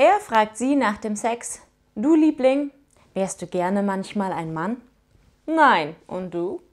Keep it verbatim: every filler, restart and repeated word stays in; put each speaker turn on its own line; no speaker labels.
Er fragt sie nach dem Sex: Du Liebling, wärst du gerne manchmal ein Mann? Nein, und du?